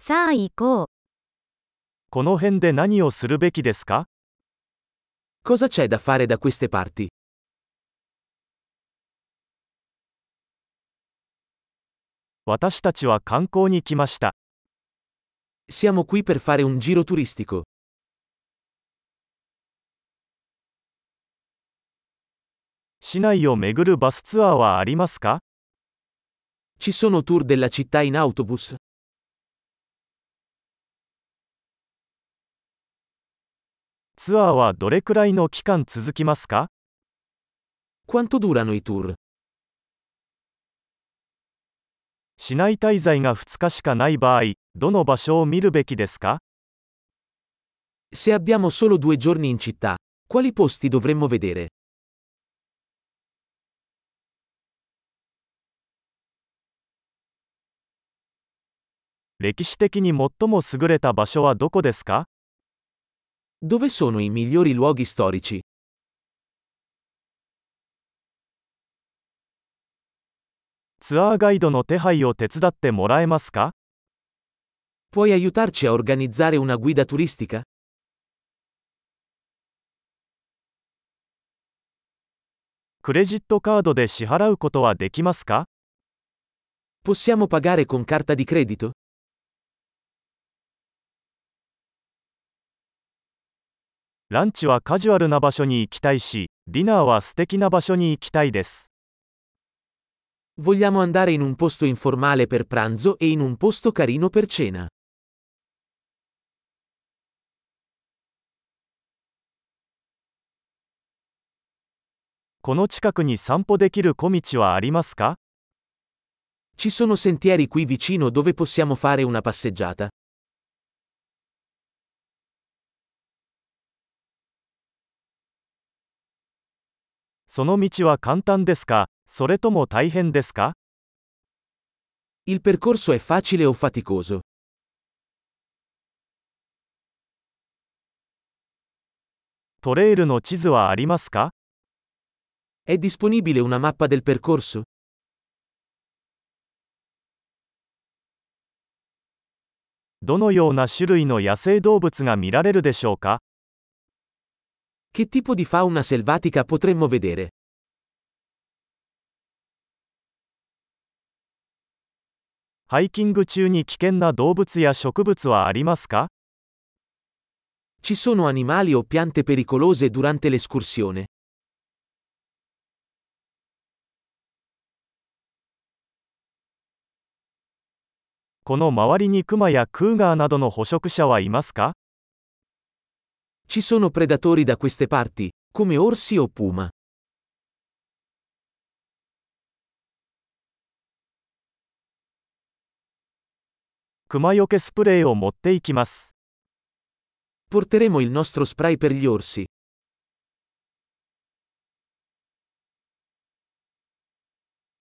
さあ行こう。 この辺で何をするべきですか？ Cosa c'è da fare da queste parti? 私たちは観光に来ました。 Siamo qui per fare un giro turistico. 市内を巡るバスツアーはありますか？ Ci sono tour della città in autobus? ツアーはどれくらいの期間続きますか？ Quanto durano i tour? 市内滞在が2日しかない場合、どの場所を見るべきですか？ Se abbiamo solo 2 giorni in città, quali posti dovremmo vedere? 歴史的に最も優れた場所はどこですか？ Dove sono i migliori luoghi storici? ツアーガイドの手配を手伝ってもらえますか？ Puoi aiutarci a organizzare una guida turistica? クレジットカードで支払うことはできますか？ Possiamo pagare con carta di credito? ランチはカジュアルな場所に行きたいし、ディナーは素敵な場所に行きたいです。 Vogliamo andare in un posto informale per pranzo e in un posto carino per cena. この近くに散歩できる小道はありますか？ Ci sono sentieri qui vicino dove possiamo fare una passeggiata? その道は簡単ですか、それとも大変ですか？ Il percorso è facile o faticoso? トレイルの地図はありますか？ È disponibile una mappa del percorso? どのような種類の野生動物が見られるでしょうか？ Che tipo di fauna selvatica potremmo vedere? ハイキング中に危険な動物や植物はありますか？ Ci sono animali o piante pericolose durante l'escursione? この周りにクマやクーガーなどの捕食者はいますか？ Ci sono predatori da queste parti, come orsi o puma? クマよけスプレーを持っていきます。 Porteremo il nostro spray per gli orsi.